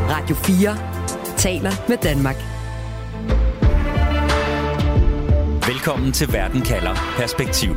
Radio 4 taler med Danmark. Velkommen til Verden kalder Perspektiv.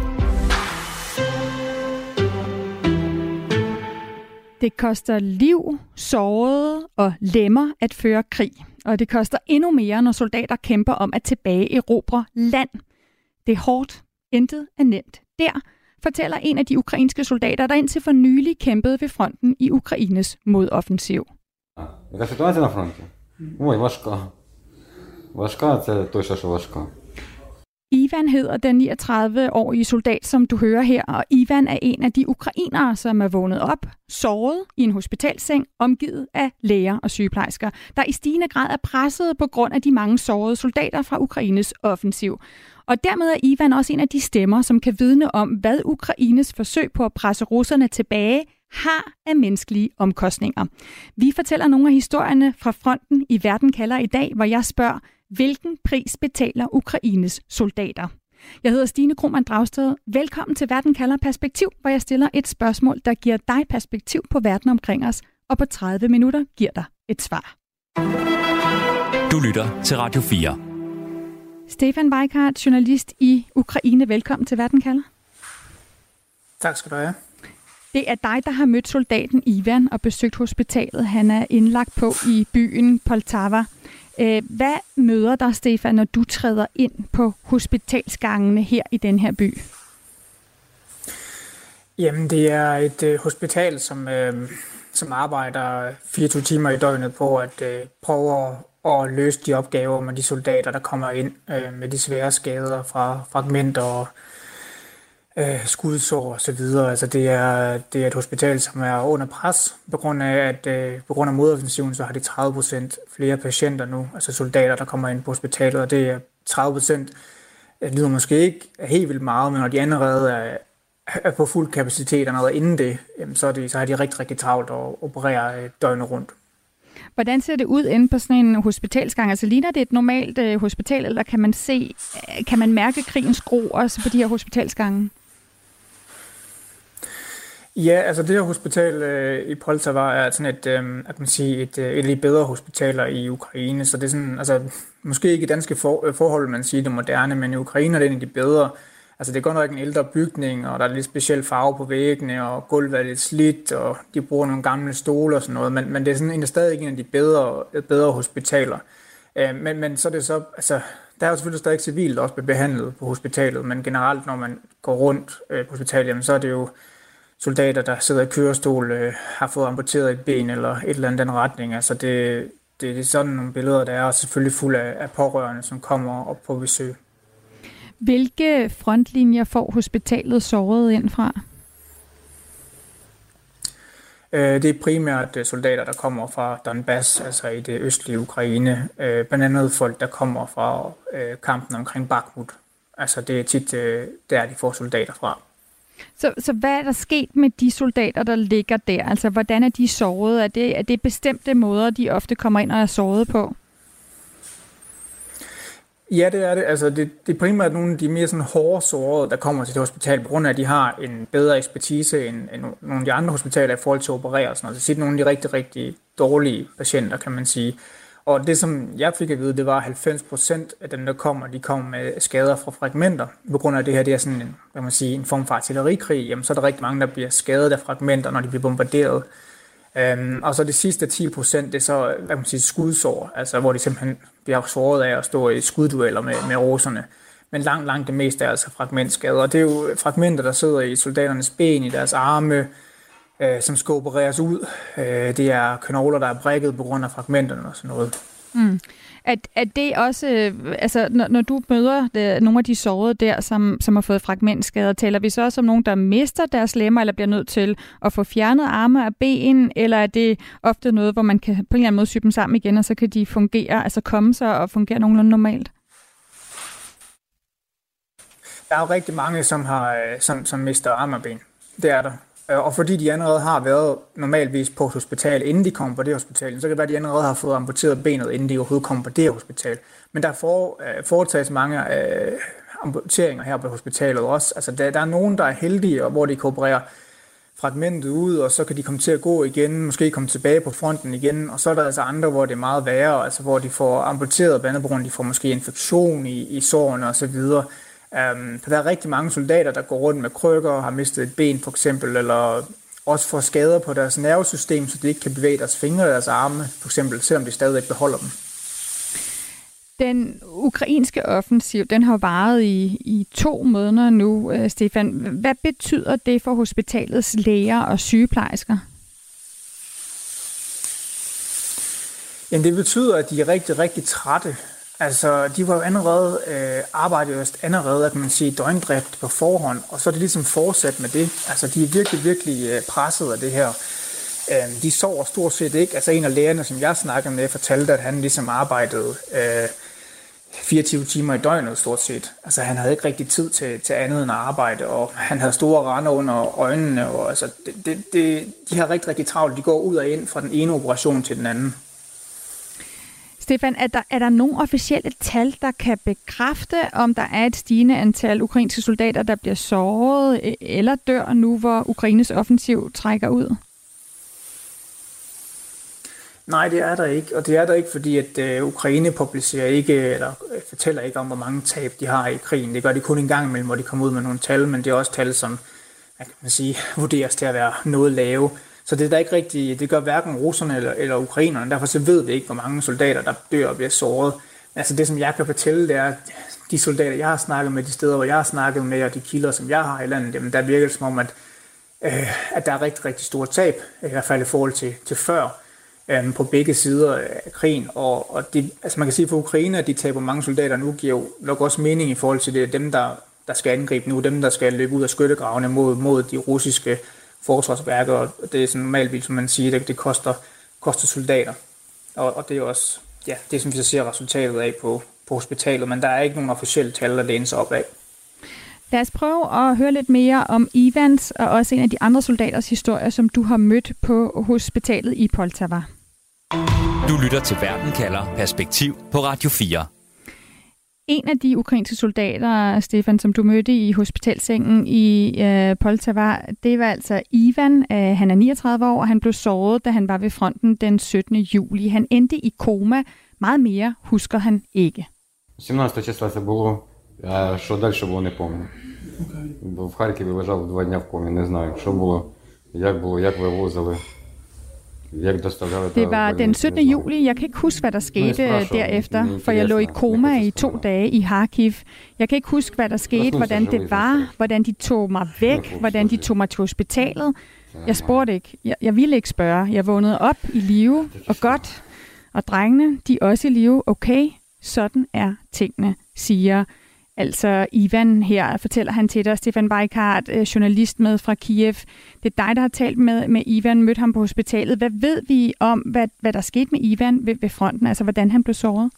Det koster liv, sårede og lemmer at føre krig. Og det koster endnu mere, når soldater kæmper om at tilbageerobre land. Det er hårdt. Intet er nemt. Der fortæller en af de ukrainske soldater, der indtil for nylig kæmpede ved fronten i Ukraines modoffensiv. Яка ситуація на фронті? Ой, важка. Важка, це точно, що важка. Ivan hedder den 39-årige soldat, som du hører her, og Ivan er en af de ukrainere, som er vågnet op, såret i en hospitalseng, omgivet af læger og sygeplejersker, der i stigende grad er presset på grund af de mange sårede soldater fra Ukraines offensiv. Og dermed er Ivan også en af de stemmer, som kan vidne om, hvad Ukraines forsøg på at presse russerne tilbage har af menneskelige omkostninger. Vi fortæller nogle af historierne fra fronten i Verden kalder i dag, hvor jeg spørger, hvilken pris betaler Ukraines soldater? Jeg hedder Stine Krohmann Dragsted. Velkommen til Verden kalder Perspektiv, hvor jeg stiller et spørgsmål, der giver dig perspektiv på verden omkring os, og på 30 minutter giver dig et svar. Du lytter til Radio 4. Stefan Weikart, journalist i Ukraine. Velkommen til Verden kalder. Tak skal du have. Det er dig, der har mødt soldaten Ivan og besøgt hospitalet. Han er indlagt på i byen Poltava. Hvad møder dig, Stefan, når du træder ind på hospitalsgangene her i den her by? Jamen, det er et hospital, som arbejder 24 timer i døgnet på at prøve at løse de opgaver med de soldater, der kommer ind med de svære skader fra fragmenter og skudsår og så videre. Altså det er et hospital, som er under pres på grund af modoffensiven, så har de 30% flere patienter nu, altså soldater, der kommer ind på hospitalet, og det er 30%. Det lyder måske ikke helt vildt meget, men når de allerede er på fuld kapacitet og noget inden det, så har de rigtig, rigtig travlt at operere døgnet rundt. Hvordan ser det ud inde på sådan en hospitalsgang? Altså ligner det et normalt hospital, eller kan man mærke krigens gro også på de her hospitalsgange? Ja, altså det her hospital i Poltava er sådan et af de bedre hospitaler i Ukraine, så det er sådan, altså måske ikke i danske forhold, man siger det moderne, men i Ukraine er det en af de bedre. Altså det er godt nok en ældre bygning, og der er lidt speciel farve på væggene, og gulvet er lidt slidt, og de bruger nogle gamle stole og sådan noget, men det er sådan stadig en af de bedre hospitaler. Men så er det så, altså der er jo selvfølgelig stadig civilt, der også bliver behandlet på hospitalet, men generelt når man går rundt på hospitalet, så er det jo soldater, der sidder i kørestol, har fået amputeret et ben eller et eller andet den retning. Altså det er sådan nogle billeder, der er selvfølgelig fuld af pårørende, som kommer op på besøg. Hvilke frontlinjer får hospitalet såret ind fra? Det er primært soldater, der kommer fra Donbass, altså i det østlige Ukraine. Blandt andet folk, der kommer fra kampen omkring Bakhmut. Altså det er tit der, de får soldater fra. Så hvad er der sket med de soldater, der ligger der? Altså hvordan er de såret? Er det bestemte måder, de ofte kommer ind og er såret på? Ja, det er det. Altså, det er primært nogle af de mere sådan hårde sårede, der kommer til det hospital, på grund af, at de har en bedre ekspertise end nogle af de andre hospitaler i forhold til at operere. Sådan noget. Så det er nogle af de rigtig, rigtig dårlige patienter, kan man sige. Og det, som jeg fik at vide, det var 90% af dem, der kommer, de kommer med skader fra fragmenter. På grund af det her, det er sådan en form for artillerikrig. Jamen, så er der rigtig mange, der bliver skadet af fragmenter, når de bliver bombarderet. Og så det sidste 10%, det er så skudsår, altså hvor de simpelthen bliver såret af at stå i skuddueller med russerne. Men langt det meste er altså fragmentskader. Og det er jo fragmenter, der sidder i soldaternes ben, i deres arme, som skal opereres ud. Det er knogler, der er brækket på grund af fragmenterne og sådan noget. Mm. Er det også, altså når du møder nogle af de sårede der, som har fået fragmentskader, taler vi så også om nogen, der mister deres lemmer, eller bliver nødt til at få fjernet arme og ben, eller er det ofte noget, hvor man kan på en eller anden måde sy dem sammen igen, og så kan de fungere, altså komme sig og fungere nogenlunde normalt? Der er jo rigtig mange, som mister arme og ben. Det er der. Og fordi de allerede har været normalvis på et hospital, inden de kommer på det hospital, så kan det være, at de allerede har fået amputeret benet, inden de overhovedet kommer på det hospital. Men der foretages mange amputeringer her på hospitalet også. Altså, der er nogen, der er heldige, og hvor de kan operere fragmentet ud, og så kan de komme til at gå igen, måske komme tilbage på fronten igen, og så er der altså andre, hvor det er meget værre, altså hvor de får amputeret blandt andet på grund af, de får måske infektion i sårene og så videre. For der er rigtig mange soldater, der går rundt med krykker og har mistet et ben for eksempel, eller også får skader på deres nervesystem, så de ikke kan bevæge deres fingre eller deres arme, for eksempel, selvom de stadig beholder dem. Den ukrainske offensiv, den har varet i 2 måneder nu, Stefan. Hvad betyder det for hospitalets læger og sygeplejersker? Jamen, det betyder, at de er rigtig, rigtig trætte. Altså, de var jo allerede, kan man sige, døgndrift på forhånd, og så er det ligesom fortsat med det. Altså, de er virkelig, virkelig presset af det her. De sover stort set ikke. Altså, en af lægerne, som jeg snakkede med, fortalte, at han ligesom arbejdede 24 timer i døgnet stort set. Altså, han havde ikke rigtig tid til andet end at arbejde, og han havde store rande under øjnene, og altså, de har rigtig, rigtig travlt. De går ud og ind fra den ene operation til den anden. Stefan, er der nogle officielle tal, der kan bekræfte, om der er et stigende antal ukrainske soldater, der bliver såret eller dør nu, hvor Ukraines offensiv trækker ud? Nej, det er der ikke, og det er der ikke, fordi at Ukraine publicerer ikke, eller fortæller ikke om, hvor mange tab de har i krigen. Det gør de kun en gang imellem, hvor de kommer ud med nogle tal, men det er også tal, som kan man sige, vurderes til at være noget lave. Så det er der ikke rigtigt, det gør hverken russerne eller ukrainerne, derfor så ved vi ikke, hvor mange soldater, der dør og bliver såret. Altså det, som jeg kan fortælle, det er, at de soldater, jeg har snakket med, de steder, hvor jeg har snakket med, og de kilder, som jeg har i landet, jamen, der virker det som om, at der er rigtig, rigtig store tab, i hvert fald i forhold til før, på begge sider af krigen. Og det, altså man kan sige for Ukraine, at de taber mange soldater nu, giver jo nok også mening i forhold til det, dem, der skal angribe nu, dem, der skal løbe ud af skyttegravene mod de russiske forsvarsværker, og det er sådan normalt, som man siger, det koster soldater. Og det er også, ja, det som vi så ser resultatet af på hospitalet, men der er ikke nogen officielle tal, der lænes op af. Lad os prøve at høre lidt mere om Ivans og også en af de andre soldaters historier, som du har mødt på hospitalet i Poltava. Du lytter til Verden kalder Perspektiv på Radio 4. En af de ukrainske soldater, Stefan, som du mødte i hospitalsengen i Poltava, det var altså Ivan. Han er 39 år, og han blev såret, da han var ved fronten den 17. juli. Han endte i koma. Meget mere husker han ikke. 17 числа це було, а що далі було, не пам'ятаю. Бо в Харкові лежав 2 дні в комі, не знаю, що було, як вивозили. Det var den 17. juli. Jeg kan ikke huske, hvad der skete derefter, for jeg lå i koma i 2 dage i Kharkiv. Jeg kan ikke huske, hvad der skete, hvordan det var, hvordan de tog mig væk, hvordan de tog mig til hospitalet. Jeg spurgte ikke. Jeg ville ikke spørge. Jeg vågnede op i live og godt. Og drengene, de er også i live. Okay, sådan er tingene, siger altså Ivan her, fortæller han til dig. Stefan Weikart, journalist med fra Kiev. Det er dig, der har talt med Ivan, mødt ham på hospitalet. Hvad ved vi om, hvad der skete med Ivan ved fronten, altså hvordan han blev såret?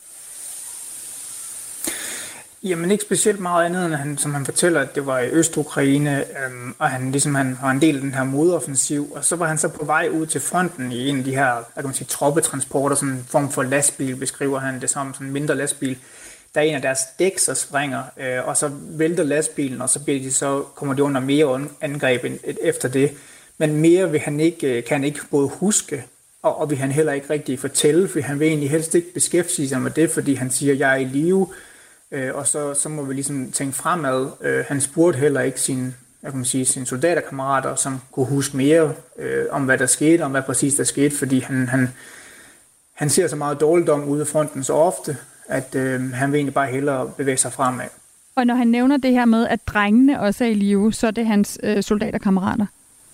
Jamen ikke specielt meget andet, end som han fortæller, at det var i Øst-Ukraine, og han var en del af den her modoffensiv, og så var han så på vej ud til fronten i en af de her, hvad kan man sige, troppetransporter, sådan en form for lastbil, beskriver han det som, sådan en mindre lastbil. Der er en af deres dæk, så springer, og så vælter lastbilen, og så kommer de under mere angreb efter det. Men mere kan han ikke både huske, og vil han heller ikke rigtig fortælle, for han vil egentlig helst ikke beskæftige sig med det, fordi han siger, at jeg er i live, og så må vi ligesom tænke fremad. Han spurgte heller ikke sine soldaterkammerater, som kunne huske mere om, hvad der skete, om hvad præcis der skete, fordi han ser så meget dårligdom ude af fronten så ofte, at han vil egentlig bare hellere bevæge sig fremad. Og når han nævner det her med, at drengene også er i live, så er det hans soldaterkammerater?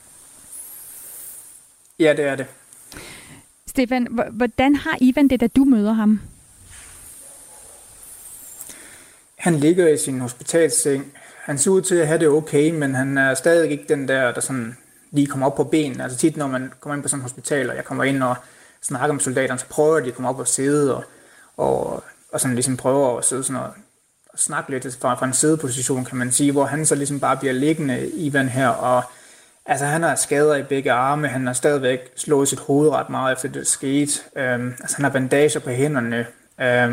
Ja, det er det. Stefan, hvordan har Ivan det, da du møder ham? Han ligger i sin hospitalsseng. Han ser ud til at have det okay, men han er stadig ikke den der sådan lige kommer op på benene. Altså tit, når man kommer ind på sådan et hospital, og jeg kommer ind og snakker med soldaterne, så prøver de at komme op og sidde, og sådan ligesom prøver at sidde sådan og snakke lidt fra en sædeposition, kan man sige, hvor han så ligesom bare bliver liggende, Ivan her, og altså han har skader i begge arme, han har stadigvæk slået sit hoved ret meget efter det skete, altså han har bandager på hænderne,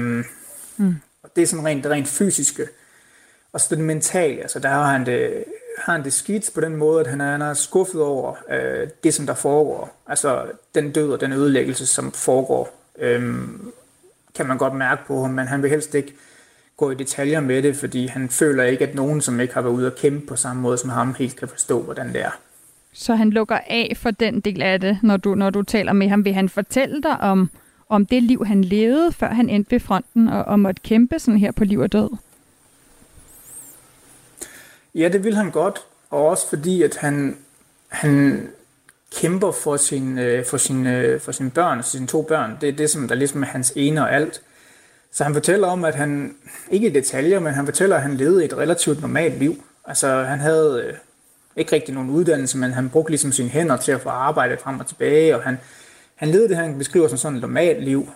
og det er sådan rent fysiske, og så det mentale, altså der har han det har han det skidt på den måde, at han er skuffet over det, som der foregår. Altså den død og den ødelæggelse, som foregår, kan man godt mærke på ham, men han vil helst ikke gå i detaljer med det, fordi han føler ikke, at nogen, som ikke har været ude at kæmpe på samme måde som ham, helt kan forstå, hvordan det er. Så han lukker af for den del af det, når du taler med ham. Vil han fortælle dig om det liv, han levede, før han endte ved fronten og måtte kæmpe sådan her på liv og død? Ja, det vil han godt, og også fordi, at han kæmper for sine børn, sine 2 børn. Det er det, som der ligesom er hans ene og alt. Så han fortæller om, at han, ikke i detaljer, men han fortæller, at han levede et relativt normalt liv. Altså, han havde ikke rigtig nogen uddannelse, men han brugte ligesom sine hænder til at få arbejde frem og tilbage, og han levede det, han beskriver som sådan et normalt liv.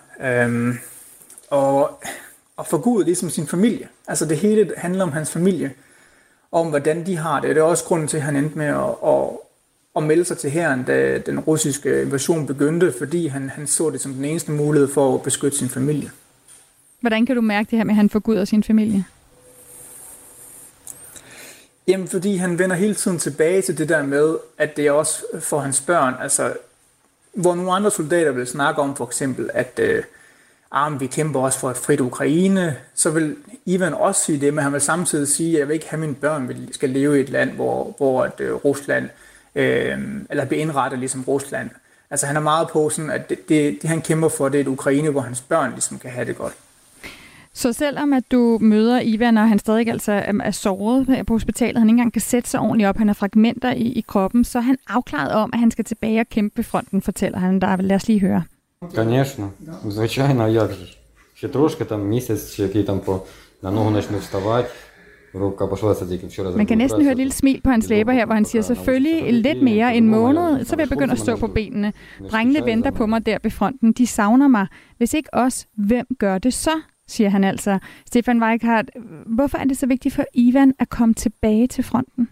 Og forgudede ligesom sin familie. Altså, det hele handler om hans familie, om hvordan de har det. Det er også grunden til, at han endte med at melde sig til hæren, da den russiske invasion begyndte, fordi han så det som den eneste mulighed for at beskytte sin familie. Hvordan kan du mærke det her med, at han forguder sin familie? Jamen, fordi han vender hele tiden tilbage til det der med, at det er også for hans børn. Altså, hvor nogle andre soldater vil snakke om for eksempel, at vi kæmper også for et frit Ukraine, så vil Ivan også sige det, men han vil samtidig sige, at jeg vil ikke have mine børn skal leve i et land, hvor Rusland, eller bliver indrettet ligesom Rusland. Altså han er meget på sådan, at det han kæmper for, det er et Ukraine, hvor hans børn ligesom kan have det godt. Så selvom at du møder Ivan, og han stadig altså er såret på hospitalet, han ikke engang kan sætte sig ordentligt op, han har fragmenter i kroppen, så er han afklaret om, at han skal tilbage og kæmpe ved fronten, fortæller han der. Lad os lige høre. Конечно, звичайно, як же. Ще трошки, там місяць, який там на ногу почну вставати. Рука пошла тільки вчора. Man kan næsten høre et lille smil på hans læber her, hvor han siger, selvfølgelig lidt mere en måned, så vil jeg begynde at stå på benene. Drengene venter på mig der ved fronten. De savner mig. Hvis ikke os, hvem gør det så? Siger han altså. Stefan Weikart, hvorfor er det så vigtigt for Ivan at komme tilbage til fronten?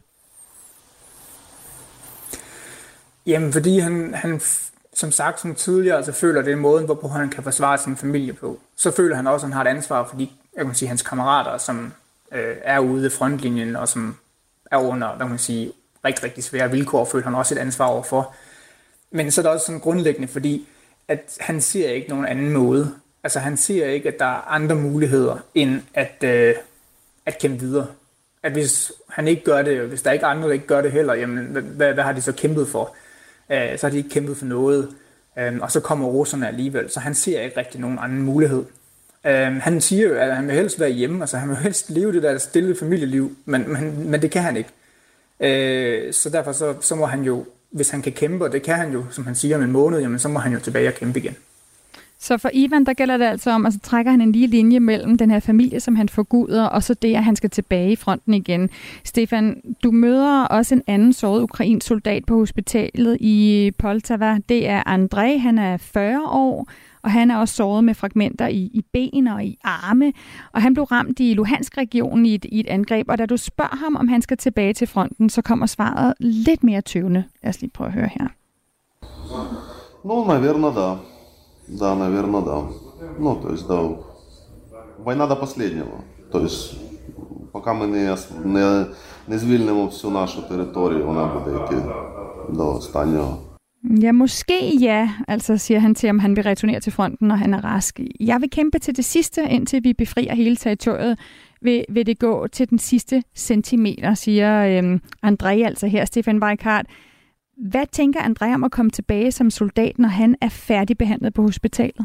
Jamen, fordi han som sagt, som tidligere, altså føler det er måden, hvorpå han kan forsvare sin familie på. Så føler han også, at han har et ansvar for hans kammerater, som er ude i frontlinjen, og som er under, rigtig, rigtig svære vilkår, føler han også et ansvar overfor. Men så er det også sådan grundlæggende, fordi at han ser ikke nogen anden måde. Altså han ser ikke, at der er andre muligheder, end at kæmpe videre. At hvis han ikke gør det, og hvis der ikke er andre, der ikke gør det heller, jamen hvad har de så kæmpet for? Så har de ikke kæmpet for noget, og så kommer russerne alligevel, så han ser ikke rigtig nogen anden mulighed. Han siger jo, at han vil helst være hjemme, altså han vil helst leve det der stille familieliv, men det kan han ikke. Så derfor så må han jo, hvis han kan kæmpe, og det kan han jo, som han siger om en måned, jamen så må han jo tilbage og kæmpe igen. Så for Ivan, der gælder det altså om, at så trækker han en lige linje mellem den her familie, som han forguder, og så det, at han skal tilbage i fronten igen. Stefan, du møder også en anden såret ukrainsk soldat på hospitalet i Poltava. Det er Andrej, han er 40 år, og han er også såret med fragmenter i ben og i arme. Og han blev ramt i Luhansk-regionen i et angreb, og da du spørger ham, om han skal tilbage til fronten, så kommer svaret lidt mere tøvende. Lad os lige prøve at høre her. Наверное, да. Да, наверное, да. То есть, да, война до последнего. То есть, пока ми не звільнимо всю нашу територію, вона буде йти до останнього. Ja, måske ja, altså siger han til, om han vil returnere til fronten, når han er rask. Jeg vil kæmpe til det sidste, indtil vi befrier hele territoriet. Vil det gå til den sidste centimeter, siger Andrej, altså her, Stefan Weikart. Hvad tænker Andrej om at komme tilbage som soldat, når han er færdigbehandlet på hospitalet?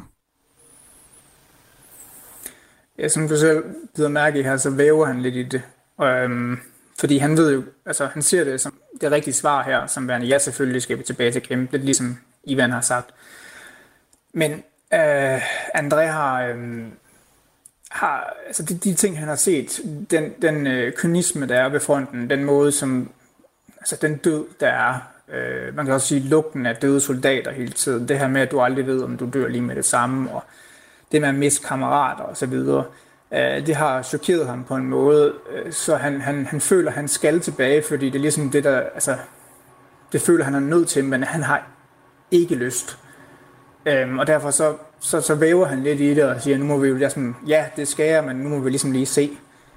Ja, som du selv bider mærke i her, så væver han lidt i det. Fordi han ved jo, altså han ser det som det rigtige svar her, som værende, ja, selvfølgelig skal vi tilbage til kæmpe, lidt ligesom Ivan har sagt. Men Andrej har altså de ting, han har set, den kynisme, der er ved fronten, den måde, som, altså den død, der er, man kan også sige lugten af døde soldater hele tiden, det her med, at du aldrig ved, om du dør lige med det samme, og det med at miste kammerater og så videre, det har chokeret ham på en måde, så han føler, at han skal tilbage, fordi det er ligesom det, der, altså, det føler han er nødt til, men han har ikke lyst. Og derfor så væver han lidt i det og siger, nu må vi jo ligesom, ja, det skal jeg, men nu må vi ligesom lige se.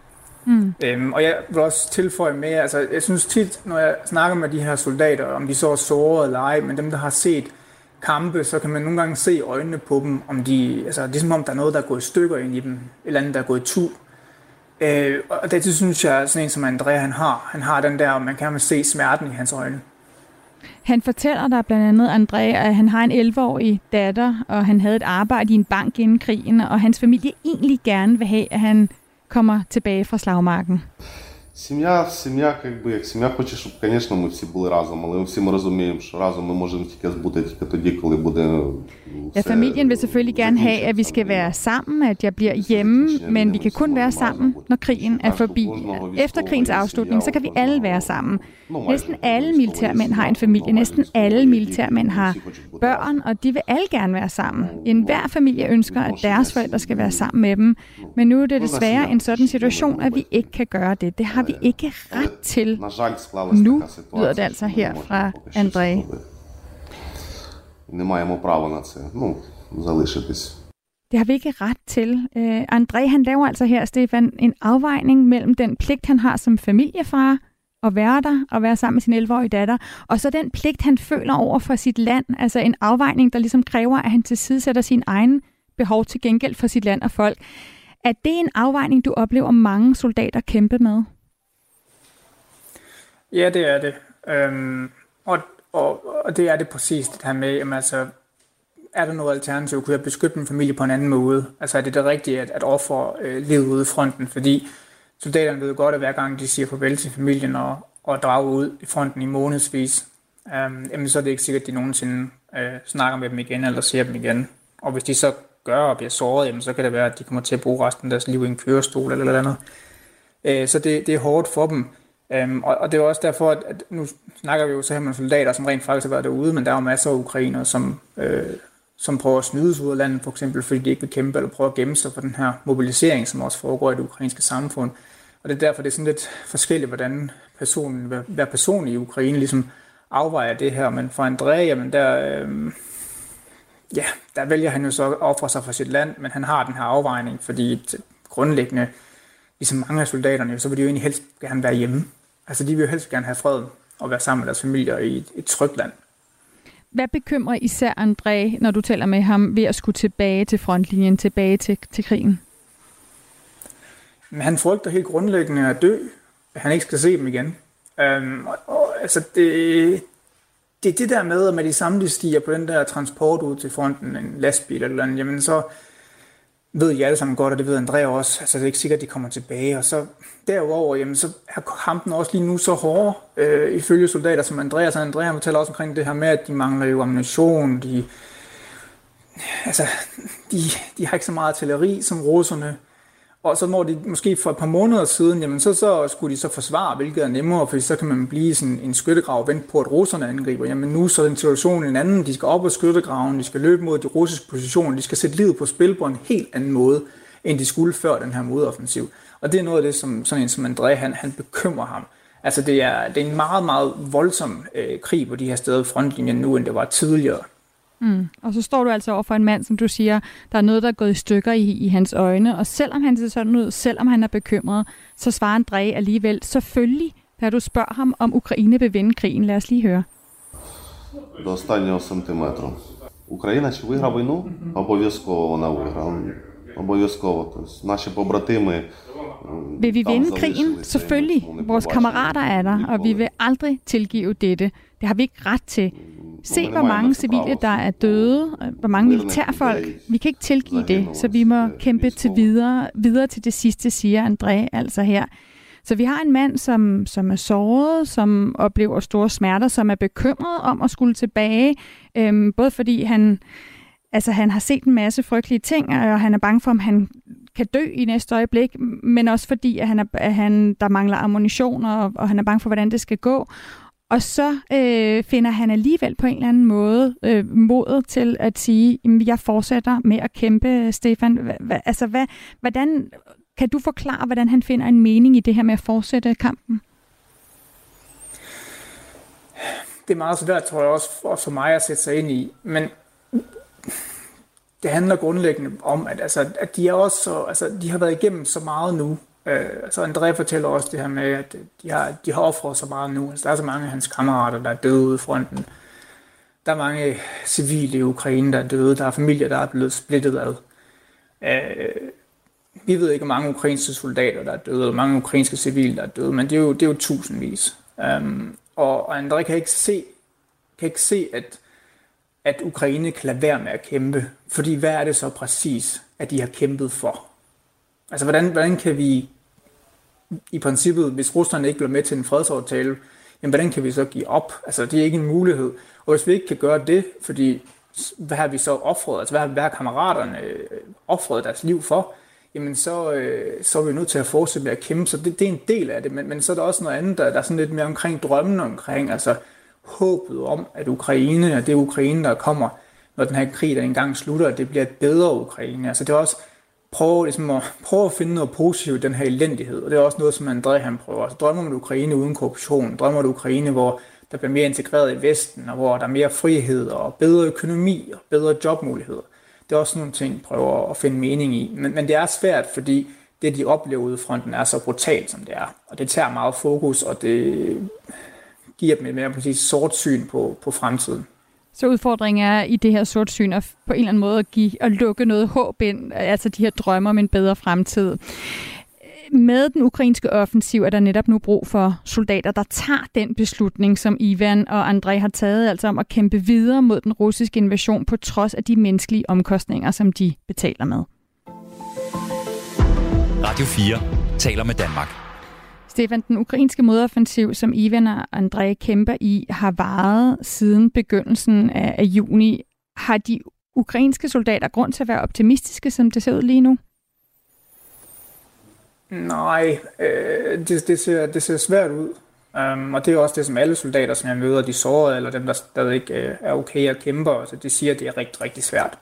Og jeg vil også tilføje med, altså jeg synes tit, når jeg snakker med de her soldater, om de så er såret eller ej, men dem, der har set kampe, så kan man nogle gange se øjnene på dem, om de, altså det er som om, der er noget, der er gået i stykker ind i dem, et eller andet, der er gået i tu. Og det synes jeg, sådan en som André, han har den der, og man kan se smerten i hans øjne. Han fortæller dig blandt andet, André, at han har en 11-årig datter, og han havde et arbejde i en bank inden krigen, og hans familie egentlig gerne vil have, at han kommer tilbage fra slagmarken. Сім'я, як сім'я хоче, щоб, звісно, ми всі були разом, але всі ми розуміємо, що разом ми можемо тільки бути тільки тоді, коли буде. Ja, familien vil selvfølgelig gerne have, at vi skal være sammen, at jeg bliver hjemme, men vi kan kun være sammen, når krigen er forbi. Efter krigens afslutning, så kan vi alle være sammen. Næsten alle militærmænd har en familie, næsten alle militærmænd har børn, og de vil alle gerne være sammen. Enhver familie ønsker, at deres forældre skal være sammen med dem, men nu er det desværre en sådan situation, at vi ikke kan gøre det. Det har vi ikke ret til. Nu lyder det altså her fra André. Не маємо права на це, залишитись. Det har vi ikke ret til. André, han laver altså her, Stefan, en afvejning mellem den pligt, han har som familiefar, at være der og være sammen med sin 11-årige datter, og så den pligt, han føler over for sit land, altså en afvejning, der ligesom kræver, at han tilsidesætter sin egen behov til gengæld for sit land og folk. Er det en afvejning, du oplever mange soldater kæmpe med? Ja, det er det. Og det er det præcis det her med, jamen, altså, er der noget alternativ? Kunne jeg beskytte min familie på en anden måde? Altså er det rigtige at ofre livet ude i fronten? Fordi soldaterne ved godt, at hver gang de siger farvel til familien og drager ud i fronten i månedsvis, jamen, så er det ikke sikkert, at de nogensinde snakker med dem igen eller ser dem igen. Og hvis de så gør og bliver såret, jamen, så kan det være, at de kommer til at bruge resten af deres liv i en kørestol eller noget andet. Så det er hårdt for dem. Og det er også derfor, at nu snakker vi jo så her med soldater, som rent faktisk har været derude, men der er jo masser af ukrainere, som prøver at snydes ud af landet, for eksempel fordi de ikke vil kæmpe eller prøver at gemme sig for den her mobilisering, som også foregår i det ukrainske samfund. Og det er derfor, det er sådan lidt forskelligt, hvordan hver person i Ukraine ligesom afvejer det her. Men for André, jamen der vælger han jo så at ofre sig for sit land, men han har den her afvejning, fordi grundlæggende, ligesom mange af soldaterne, så vil de jo egentlig helst gerne være hjemme. Altså de vil jo helst gerne have fred og være sammen med deres familier i et trygt land. Hvad bekymrer især André, når du taler med ham, ved at skulle tilbage til frontlinjen, tilbage til krigen? Men han frygter helt grundlæggende at dø, at han ikke skal se dem igen. Altså det er det der med de samme stiger på den der transport ud til fronten, en lastbil eller andet, jamen så ved I alle sammen godt, og det ved André også, altså det er ikke sikkert, at de kommer tilbage, og så derover, jamen så er kampen også lige nu så hård, ifølge soldater som André, så André han fortæller også omkring det her med, at de mangler jo ammunition, de har ikke så meget artilleri som russerne, og så når de måske for et par måneder siden, jamen så skulle de så forsvare, hvilket er nemmere, fordi så kan man blive sådan en skyttegrav og vente på, at russerne angriber. Jamen nu så er den situation en anden, de skal op på skyttegraven, de skal løbe mod de russiske positioner, de skal sætte livet på spil på en helt anden måde, end de skulle før den her modoffensiv. Og det er noget af det, som sådan en som André, han bekymrer ham. Altså det er en meget, meget voldsom krig på de her steder i frontlinjen nu, end det var tidligere. Og så står du altså over for en mand, som du siger, der er noget, der er gået i stykker i hans øjne, og selvom han ser sådan ud, selvom han er bekymret, så svarer André alligevel selvfølgelig, da du spørger ham, om Ukraine vil vinde krigen. Lad os lige høre. До останнього сантиметру. Україна чи виграє війну? Обов'язково вона виграє. Обов'язково. Тобто наші побратими. Vil vi vinde krigen? Selvfølgelig. Vores kammerater er der, og vi vil aldrig tilgive dette. Det har vi ikke ret til. Se, hvor mange civile, der er døde, hvor mange militærfolk. Vi kan ikke tilgive det, så vi må kæmpe til videre til det sidste, siger André altså her. Så vi har en mand, som er såret, som oplever store smerter, som er bekymret om at skulle tilbage, både fordi han har set en masse frygtelige ting, og han er bange for, om han kan dø i næste øjeblik, men også fordi, at der mangler ammunition, og han er bange for, hvordan det skal gå. Og så finder han alligevel på en eller anden måde modet til at sige, at jeg fortsætter med at kæmpe, Stefan. Hvordan kan du forklare, hvordan han finder en mening i det her med at fortsætte kampen? Det er meget svært, tror jeg også for mig at sætte sig ind i, men det handler grundlæggende om, at de er også de har været igennem så meget nu, Altså André fortæller også det her med, at de har offret så meget nu. Altså, der er så mange af hans kammerater, der er døde ude i fronten. Der er mange civile i Ukraine, der er døde. Der er familier, der er blevet splittet ad. Vi ved ikke, hvor mange ukrainske soldater, der er døde, eller mange ukrainske civile, der er døde, men det er jo tusindvis. Og André kan ikke se, at Ukraine kan lade være med at kæmpe. Fordi hvad er det så præcis, at de har kæmpet for? Altså, hvordan kan vi i princippet, hvis Rusland ikke bliver med til en fredsaftale, jamen, hvordan kan vi så give op? Altså, det er ikke en mulighed. Og hvis vi ikke kan gøre det, fordi hvad har vi så offret? Altså, hvad har kammeraterne offret deres liv for? Jamen, så er vi nødt til at fortsætte med at kæmpe. Så det er en del af det. Men så er der også noget andet, der er sådan lidt mere omkring drømmen omkring, altså håbet om, at Ukraine, og det Ukraine, der kommer, når den her krig, der engang slutter, at det bliver et bedre Ukraine. Altså, det er også prøve at finde noget positivt i den her elendighed, og det er også noget, som André han prøver. Altså, drømmer om et Ukraine uden korruption, drømmer om et Ukraine, hvor der bliver mere integreret i Vesten, og hvor der er mere frihed og bedre økonomi og bedre jobmuligheder. Det er også nogle ting, prøver at finde mening i. Men det er svært, fordi det, de oplever ude i fronten, er så brutalt, som det er. Og det tager meget fokus, og det giver dem et mere præcis sort syn på fremtiden. Så udfordringen er i det her sortsyn at på en eller anden måde at lukke noget håb ind, altså de her drømmer om en bedre fremtid. Med den ukrainske offensiv er der netop nu brug for soldater, der tager den beslutning, som Ivan og André har taget, altså om at kæmpe videre mod den russiske invasion på trods af de menneskelige omkostninger, som de betaler med. Radio 4 taler med Danmark. Stefan, den ukrainske modoffensiv, som Ivan og André kæmper i, har varet siden begyndelsen af juni. Har de ukrainske soldater grund til at være optimistiske, som det ser ud lige nu? Nej, det ser svært ud. Og det er også det, som alle soldater, som jeg møder, de sårede, eller dem, der stadig er okay at kæmpe, altså, de siger, at det er rigtig, rigtig svært.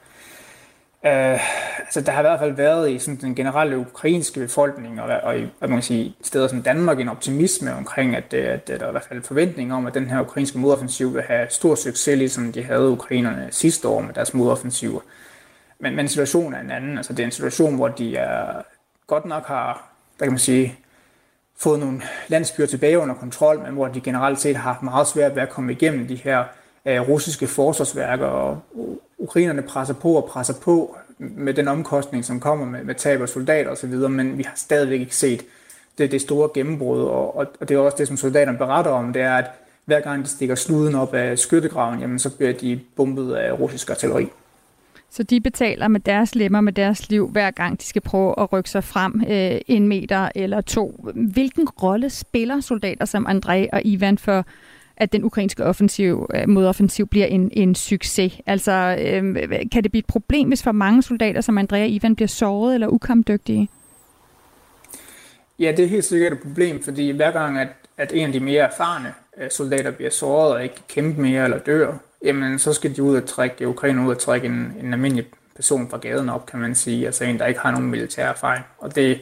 Altså, der har i hvert fald været i sådan, den generelle ukrainske befolkning, og i man kan sige, steder som Danmark, en optimisme omkring, at der er i hvert fald forventning om, at den her ukrainske modoffensiv vil have stor succes, ligesom de havde ukrainerne sidste år med deres modoffensiver. Men situationen er en anden. Altså, det er en situation, hvor de godt nok har, der kan man sige, fået nogle landsbyer tilbage under kontrol, men hvor de generelt set har meget svært ved at komme igennem de her russiske forsvarsværker, og ukrainerne presser på med den omkostning, som kommer med tab af soldater osv., men vi har stadigvæk ikke set det store gennembrud, og det er også det, som soldaterne beretter om, det er, at hver gang de stikker sluden op af skyttegraven, jamen, så bliver de bombet af russisk artilleri. Så de betaler med deres lemmer, med deres liv, hver gang de skal prøve at rykke sig frem 1 meter eller 2. Hvilken rolle spiller soldater som André og Ivan for, at den ukrainske modoffensiv bliver en succes? Altså, kan det blive et problem, hvis for mange soldater som André og Ivan bliver såret eller ukampdygtige? Ja, det er helt sikkert et problem, fordi hver gang, at en af de mere erfarne soldater bliver såret og ikke kan kæmpe mere eller dør, jamen så skal de ud og trække Ukraine ud og trække en almindelig person fra gaden op, kan man sige. Altså en, der ikke har nogen militær erfaring. Og det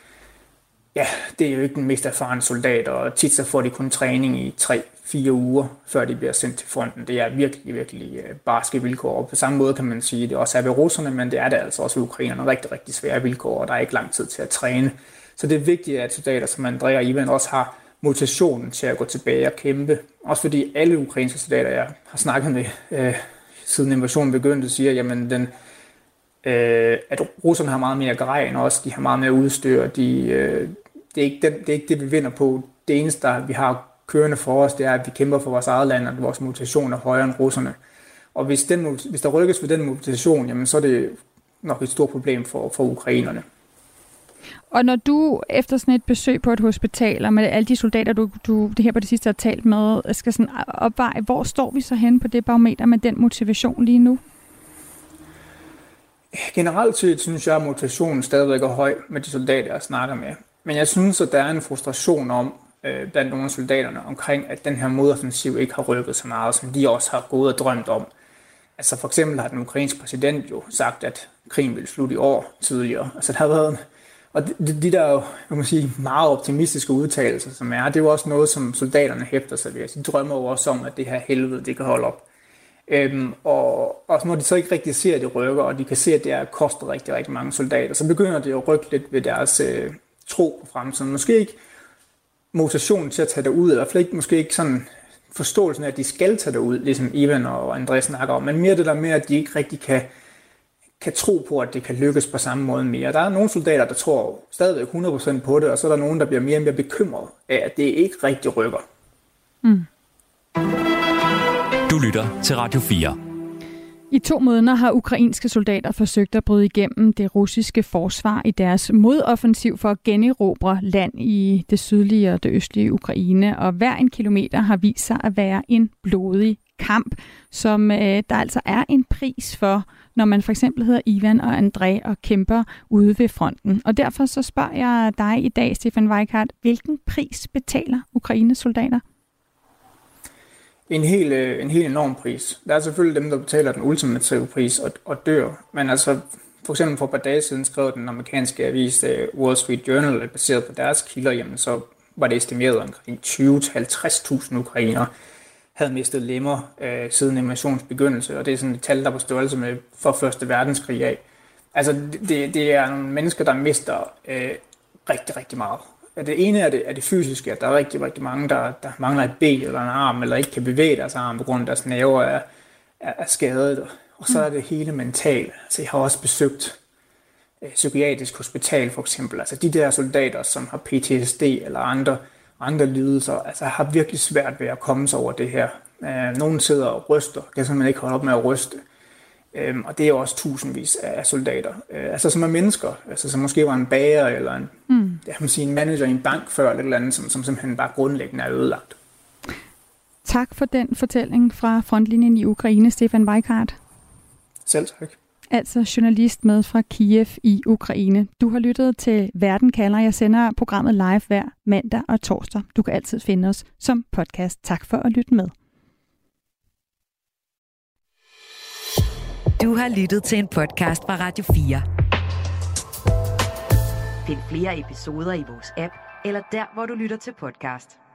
er jo ikke den mest erfarne soldat, og tit så får de kun træning i 3-4 uger, før de bliver sendt til fronten. Det er virkelig, virkelig barske vilkår. Og på samme måde kan man sige, at det også er ved russerne, men det er det altså også ved ukrainerne. Rigtig, rigtig svære vilkår, og der er ikke lang tid til at træne. Så det er vigtigt, at soldater som André og Ivan også har motivationen til at gå tilbage og kæmpe. Også fordi alle ukrainske soldater, jeg har snakket med siden invasionen begyndte, siger, jamen at russerne har meget mere grej end os, de har meget mere udstyr, det er ikke det, vi vinder på. Det eneste, vi har kørende for os, det er, at vi kæmper for vores eget land, og vores motivation er højere end russerne. Og hvis der rykkes ved den motivation, jamen, så er det nok et stort problem for ukrainerne. Og når du efter sådan et besøg på et hospital, og med alle de soldater, du det her på det sidste har talt med, skal sådan opveje, hvor står vi så hen på det barometer med den motivation lige nu? Generelt set synes jeg, at motivationen stadigvæk er høj med de soldater, jeg snakker med. Men jeg synes, at der er en frustration om, blandt nogle af soldaterne, omkring, at den her modoffensiv ikke har rykket så meget, som de også har gået og drømt om. Altså for eksempel har den ukrainske præsident jo sagt, at krigen ville slutte i år tidligere. Altså der har været og de der jo, kan man sige, meget optimistiske udtalelser, som er, det er jo også noget, som soldaterne hæfter sig ved. De drømmer jo også om, at det her helvede, det kan holde op. Og når de så ikke rigtig ser, at det rykker, og de kan se, at det koster rigtig, rigtig mange soldater, så begynder det at rykke lidt ved deres tro på fremtiden. Måske ikke motivationen til at tage derud, eller i hvert fald måske ikke sådan forståelsen af, at de skal tage derud, ligesom Ivan og André snakker om, men mere det der med, at de ikke rigtig kan tro på, at det kan lykkes på samme måde mere. Der er nogle soldater, der tror stadigvæk 100% på det, og så er der nogen, der bliver mere og mere bekymret af, at det ikke rigtig rykker. Du lytter til Radio 4. I 2 måneder har ukrainske soldater forsøgt at bryde igennem det russiske forsvar i deres modoffensiv for at generobre land i det sydlige og det østlige Ukraine. Og hver en kilometer har vist sig at være en blodig kamp, som der altså er en pris for, når man for eksempel hedder Ivan og André og kæmper ude ved fronten. Og derfor så spørger jeg dig i dag, Stefan Weikart, hvilken pris betaler Ukraines soldater? En helt enorm pris. Der er selvfølgelig dem, der betaler den ultimative pris og dør. Men altså, for eksempel for et par dage siden skrev den amerikanske avis Wall Street Journal, baseret på deres kilder, jamen, så var det estimeret omkring 20-50.000 ukrainere havde mistet lemmer siden invasionens begyndelse. Og det er sådan et tal, der er på størrelse med for Første Verdenskrig af. Altså, det er nogle mennesker, der mister rigtig, rigtig meget. Det ene er det fysiske, at der er rigtig, rigtig mange, der mangler et ben eller en arm, eller ikke kan bevæge deres arm, på grund af deres nerver er skadet. Og så er det hele mentale. Altså, jeg har også besøgt psykiatrisk hospital, for eksempel. Altså, de der soldater, som har PTSD eller andre lidelser, altså, har virkelig svært ved at komme sig over det her. Nogle sidder og ryster, kan simpelthen ikke holde op med at ryste. Og det er jo også tusindvis af soldater, altså som er mennesker, altså som måske var en bager eller en manager i en bank før, eller et eller andet, som simpelthen bare grundlæggende er ødelagt. Tak for den fortælling fra frontlinjen i Ukraine, Stefan Weikart. Selv tak. Altså journalist med fra Kiev i Ukraine. Du har lyttet til Verden kalder. Jeg sender programmet live hver mandag og torsdag. Du kan altid finde os som podcast. Tak for at lytte med. Du har lyttet til en podcast fra Radio 4. Find flere episoder i vores app, eller der, hvor du lytter til podcast.